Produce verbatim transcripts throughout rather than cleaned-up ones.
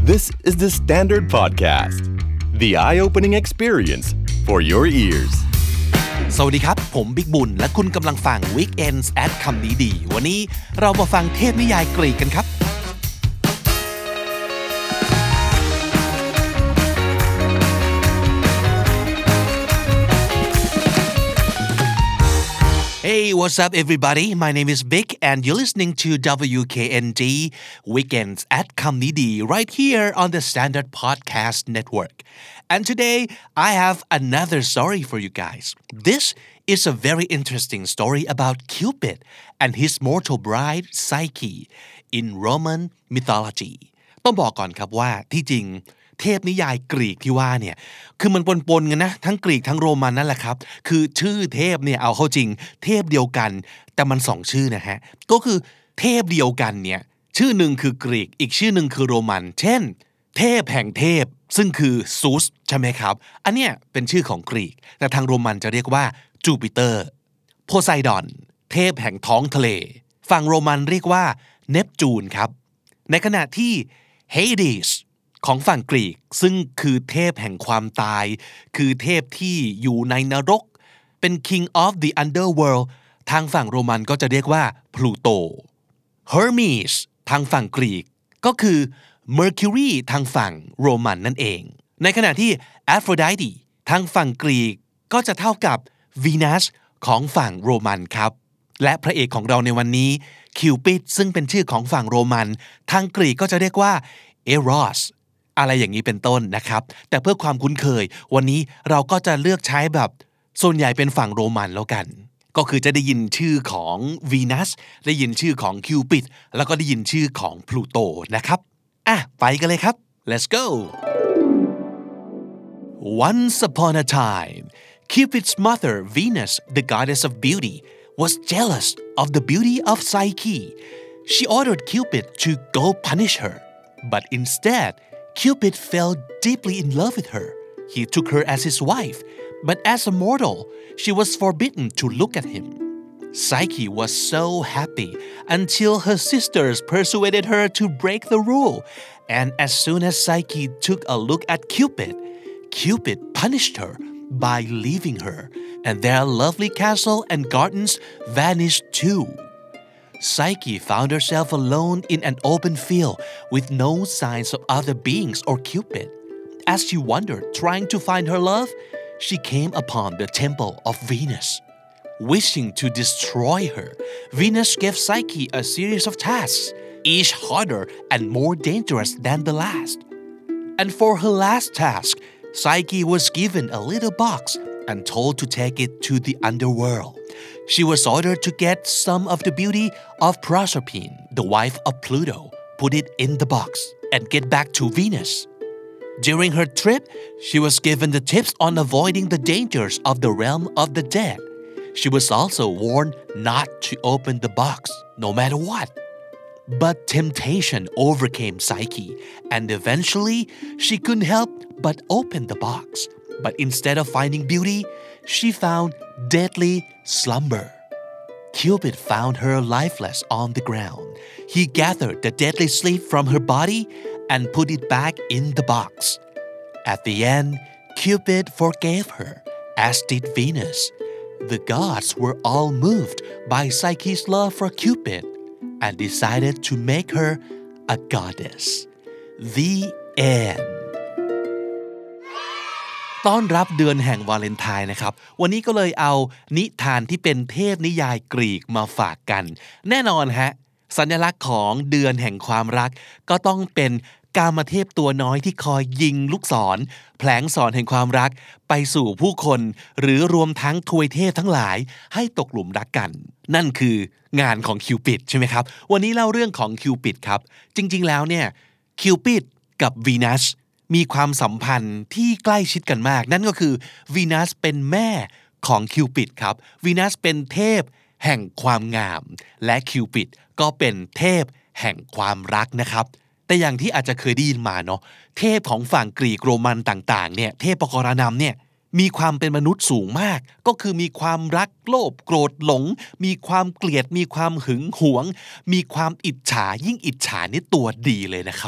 This is the Standard Podcast, the eye-opening experience for your ears. สวัสดีครับผมบิ๊กบุญและคุณกำลังฟัง Weekends at คำนี้ดีวันนี้เรามาฟังเทพนิยายกรีกกันครับHey, what's up everybody? My name is Vic and you're listening to W K N D Weekends at คำนี้ดี right here on the Standard Podcast Network. And today I have another story for you guys. This is a very interesting story about Cupid and his mortal bride Psyche in Roman mythology. ต้องบอกก่อนครับว่าที่จริงเทพนิยายกรีกที่ว่าเนี่ยคือมันปนๆกันนะทั้งกรีกทั้งโรมันนั่นแหละครับคือชื่อเทพเนี่ยเอาเข้าจริงเทพเดียวกันแต่มันสองชื่อนะฮะก็คือเทพเดียวกันเนี่ยชื่อหนึ่งคือกรีกอีกชื่อหนึ่งคือโรมันเช่นเทพแห่งเทพซึ่งคือซูสใช่ไหมครับอันเนี้ยเป็นชื่อของกรีกแต่ทางโรมันจะเรียกว่าจูปิเตอร์โพไซดอนเทพแห่งท้องทะเลฝั่งโรมันเรียกว่าเนปจูนครับในขณะที่เฮดิสของฝั่งกรีกซึ่งคือเทพแห่งความตายคือเทพที่อยู่ในนรกเป็น King of the Underworld ทางฝั่งโรมันก็จะเรียกว่าพลูโต Hermes ทางฝั่งกรีกก็คือ Mercury ทางฝั่งโรมันนั่นเองในขณะที่ Aphrodite ทางฝั่งกรีกก็จะเท่ากับ Venus ของฝั่งโรมันครับและพระเอกของเราในวันนี้ Cupid ซึ่งเป็นชื่อของฝั่งโรมันทางกรีกก็จะเรียกว่า Erosอะไรอย่างนี้เป็นต้นนะครับแต่เพื่อความคุ้นเคยวันนี้เราก็จะเลือกใช้แบบส่วนใหญ่เป็นฝั่งโรมันแล้วกันก็คือจะได้ยินชื่อของวีนัสได้ยินชื่อของคิวปิดแล้วก็ได้ยินชื่อของพลูโตนะครับอ่ะไปกันเลยครับ let's go Once upon a time Cupid's mother Venus the goddess of beauty was jealous of the beauty of Psyche she ordered Cupid to go punish her but instead Cupid fell deeply in love with her. He took her as his wife, but as a mortal, she was forbidden to look at him. Psyche was so happy until her sisters persuaded her to break the rule, and as soon as Psyche took a look at Cupid, Cupid punished her by leaving her, and their lovely castle and gardens vanished too.Psyche found herself alone in an open field with no signs of other beings or Cupid. As she wandered trying to find her love, she came upon the temple of Venus. Wishing to destroy her, Venus gave Psyche a series of tasks, each harder and more dangerous than the last. And for her last task, Psyche was given a little box and told to take it to the underworld.She was ordered to get some of the beauty of Proserpine, the wife of Pluto, put it in the box, and get back to Venus. During her trip, she was given the tips on avoiding the dangers of the realm of the dead. She was also warned not to open the box, no matter what. But temptation overcame Psyche, and eventually she couldn't help but open the box.But instead of finding beauty, she found deadly slumber. Cupid found her lifeless on the ground. He gathered the deadly sleep from her body and put it back in the box. At the end, Cupid forgave her, as did Venus. The gods were all moved by Psyche's love for Cupid and decided to make her a goddess. The end.ต้อนรับเดือนแห่งวาเลนไทน์นะครับวันนี้ก็เลยเอานิทานที่เป็นเทพนิยายกรีกมาฝากกันแน่นอนฮะสัญลักษณ์ของเดือนแห่งความรักก็ต้องเป็นกามเทพตัวน้อยที่คอยยิงลูกศรแผลงศรแห่งความรักไปสู่ผู้คนหรือรวมทั้งทวยเทพทั้งหลายให้ตกหลุมรักกันนั่นคืองานของคิวปิดใช่ไหมครับวันนี้เล่าเรื่องของคิวปิดครับจริงๆแล้วเนี่ยคิวปิดกับวีนัสมีความสัมพันธ์ที่ใกล้ชิดกันมากนั่นก็คือวีนัสเป็นแม่ของคิวปิดครับวีนัสเป็นเทพแห่งความงามและคิวปิดก็เป็นเทพแห่งความรักนะครับแต่อย่างที่อาจจะเคยได้ยินมาเนาะเทพของฝั่งกรีกโรมันต่างๆเนี่ยเทพปกรณำเนี่ยมีความเป็นมนุษย์สูงมากก็คือมีความรักโลภโกรธหลงมีความเกลียดมีความหึงหวงมีความอิจฉายิ่งอิจฉานี่ตัวดีเลยนะครับ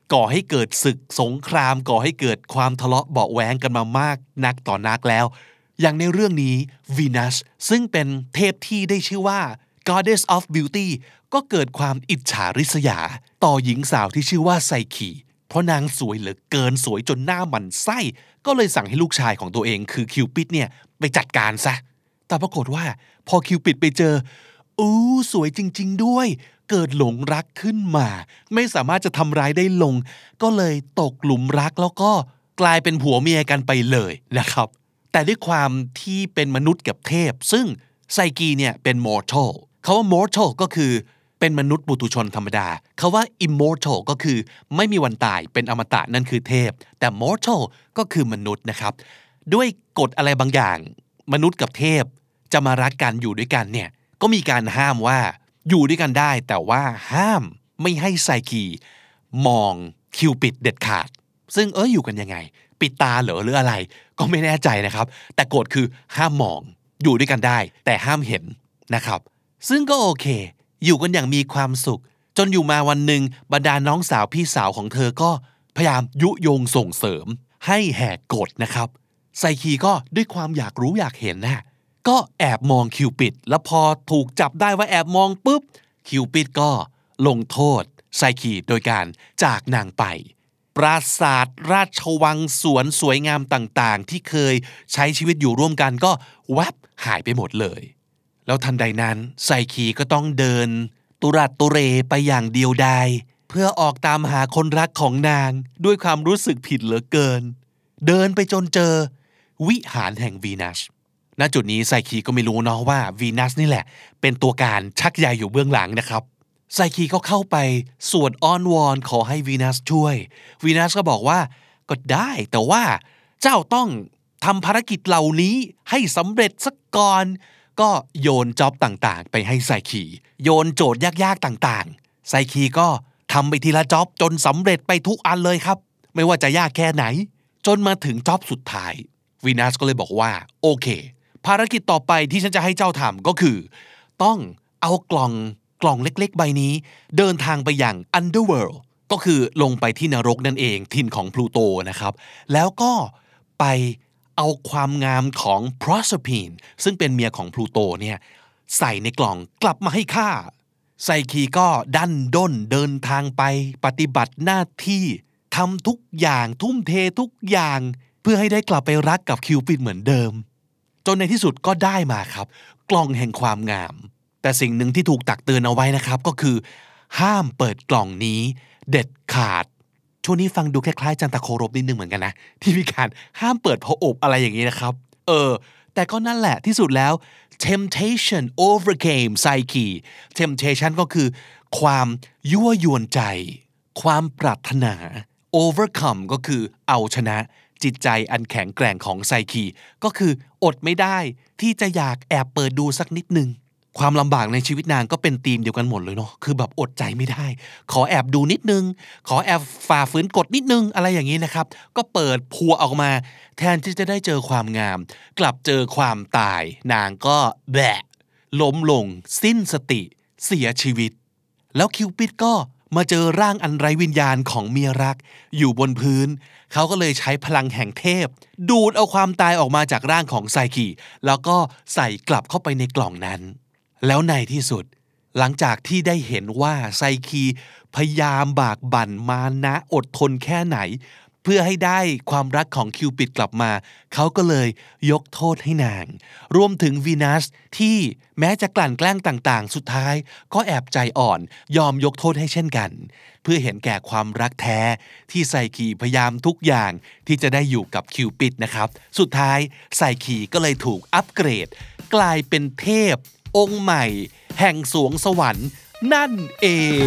ก่อให้เกิดศึกสงครามก่อให้เกิดความทะเลาะเบาะแว้งกันมามากนักต่อนักแล้วอย่างในเรื่องนี้วีนัสซึ่งเป็นเทพที่ได้ชื่อว่า Goddess of Beauty ก็เกิดความอิจฉาริษยาต่อหญิงสาวที่ชื่อว่าไซคีเพราะนางสวยเหลือเกินสวยจนหน้าหมันไส้ก็เลยสั่งให้ลูกชายของตัวเองคือคิวปิดเนี่ยไปจัดการซะแต่ปรากฏว่าพอคิวปิดไปเจออู้สวยจริงๆด้วยเกิดหลงรักขึ้นมาไม่สามารถจะทำร้ายได้ลงก็เลยตกหลุมรักแล้วก็กลายเป็นผัวเมียกันไปเลยนะครับแต่ด้วยความที่เป็นมนุษย์กับเทพซึ่งไซกีเนี่ยเป็น mortal เขาว่า mortal ก็คือเป็นมนุษย์ปุถุชนธรรมดาเขาว่า immortal ก็คือไม่มีวันตายเป็นอมตะนั่นคือเทพแต่ mortal ก็คือมนุษย์นะครับด้วยกฎอะไรบางอย่างมนุษย์กับเทพจะมารักกันอยู่ด้วยกันเนี่ยก็มีการห้ามว่าอยู่ด้วยกันได้แต่ว่าห้ามไม่ให้ไซกีมองคิวปิดเด็ดขาดซึ่งเอออยู่กันยังไงปิดตาเหรอหรืออะไรก็ไม่แน่ใจนะครับแต่กฎคือห้ามมองอยู่ด้วยกันได้แต่ห้ามเห็นนะครับซึ่งก็โอเคอยู่กันอย่างมีความสุขจนอยู่มาวันหนึ่งบรรดาน้องสาวพี่สาวของเธอก็พยายามยุยงส่งเสริมให้แหกกฎนะครับไซคีก็ด้วยความอยากรู้อยากเห็นนะก็แอบมองคิวปิดแล้วพอถูกจับได้ว่าแอบมองปุ๊บคิวปิดก็ลงโทษไซคีโดยการจากนางไปปราสาทราชวังสวนสวยงามต่างๆที่เคยใช้ชีวิตอยู่ร่วมกันก็แวบหายไปหมดเลยแล้วทันใดนั้นไซคีก็ต้องเดินตุรัดตุเรไปอย่างเดียวดายเพื่อออกตามหาคนรักของนางด้วยความรู้สึกผิดเหลือเกินเดินไปจนเจอวิหารแห่งวีนัสณจุดนี้ไซคีก็ไม่รู้เนาะว่าวีนัสนี่แหละเป็นตัวการชักใยอยู่เบื้องหลังนะครับไซคีก็เข้าไปสวดอ้อนวอนขอให้วีนัสช่วยวีนัสก็บอกว่าก็ได้แต่ว่าเจ้าต้องทำภารกิจเหล่านี้ให้สำเร็จสักก่อนก็โยนจ็อบต่างๆไปให้ไซคีโยนโจทย์ยากๆต่างๆไซคีก็ทำไปทีละจ็อบจนสำเร็จไปทุกอันเลยครับไม่ว่าจะยากแค่ไหนจนมาถึงจ็อบสุดท้ายวีนัสก็เลยบอกว่าโอเคภารกิจต่อไปที่ฉันจะให้เจ้าทำก็คือต้องเอากล่องกล่องเล็กๆใบนี้เดินทางไปยัง Underworld ก็คือลงไปที่นรกนั่นเองถิ่นของพลูโตนะครับแล้วก็ไปเอาความงามของ Proserpine ซึ่งเป็นเมียของพลูโตเนี่ยใส่ในกล่องกลับมาให้ข้าไซคีก็ดันด้นเดินทางไปปฏิบัติหน้าที่ทำทุกอย่างทุ่มเททุกอย่างเพื่อให้ได้กลับไปรักกับคิวปิดเหมือนเดิมจนในที่สุดก็ได้มาครับกล่องแห่งความงามแต่สิ่งหนึ่งที่ถูกตักเตือนเอาไว้นะครับก็คือห้ามเปิดกล่องนี้เด็ดขาดช่วงนี้ฟังดูคล้ายๆจันทโครบนิดนึงเหมือนกันนะที่มีการห้ามเปิดพออบอะไรอย่างนี้นะครับเออแต่ก็นั่นแหละที่สุดแล้ว temptation overcame psyche temptation ก็คือความยั่วยวนใจความปรารถนา overcome ก็คือเอาชนะจิตใจอันแข็งแกร่งของไซคีก็คืออดไม่ได้ที่จะอยากแอบเปิดดูสักนิดนึงความลำบากในชีวิตนางก็เป็นธีมเดียวกันหมดเลยเนาะคือแบบอดใจไม่ได้ขอแอบดูนิดนึงขอแอบฝ่าฝืนกฎนิดนึงอะไรอย่างนี้นะครับก็เปิดพัวออกมาแทนที่จะได้เจอความงามกลับเจอความตายนางก็แบะล้มลงสิ้นสติเสียชีวิตแล้วคิวปิดก็มาเจอร่างอันไร้วิญญาณของเมียรักอยู่บนพื้นเขาก็เลยใช้พลังแห่งเทพดูดเอาความตายออกมาจากร่างของไซคีแล้วก็ใส่กลับเข้าไปในกล่องนั้นแล้วในที่สุดหลังจากที่ได้เห็นว่าไซคีพยายามบากบั่นมานะอดทนแค่ไหนเพื่อให้ได้ความรักของคิวปิดกลับมาเขาก็เลยยกโทษให้นางรวมถึงวีนัสที่แม้จะกลั่นแกล้งต่างๆสุดท้ายก็แอบใจอ่อนยอมยกโทษให้เช่นกันเพื่อเห็นแก่ความรักแท้ที่ไซคีพยายามทุกอย่างที่จะได้อยู่กับคิวปิดนะครับสุดท้ายไซคีก็เลยถูกอัปเกรดกลายเป็นเทพองค์ใหม่แห่งสวงสวรรค์นั่นเอง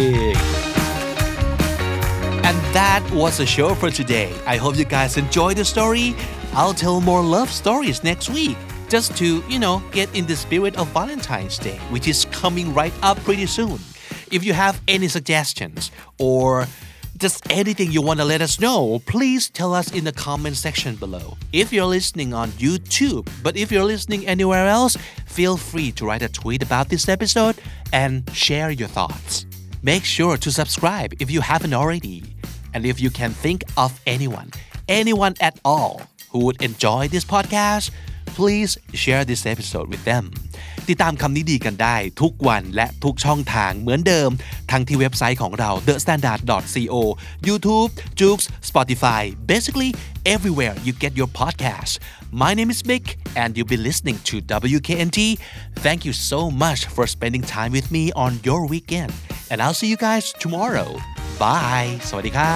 And that was the show for today. I hope you guys enjoyed the story. I'll tell more love stories next week just to, you know, get in the spirit of Valentine's Day, which is coming right up pretty soon. If you have any suggestions or just anything you want to let us know, please tell us in the comment section below. If you're listening on YouTube, but if you're listening anywhere else, feel free to write a tweet about this episode and share your thoughts. Make sure to subscribe if you haven't already. and if you can think of anyone anyone at all who would enjoy this podcast please share this episode with them ติดตามคำนี้ดีกันได้ทุกวันและทุกช่องทางเหมือนเดิมทั้งที่เว็บไซต์ของเรา the standard dot co YouTube Joox Spotify basically everywhere you get your podcast My name is Mick and you've been listening to ดับเบิลยู เค เอ็น ที Thank you so much for spending time with me on your weekend and I'll see you guys tomorrow Bye สวัสดีครับ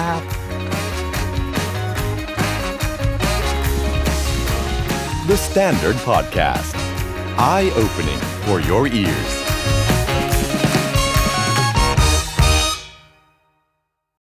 The Standard Podcast Eye-opening for your ears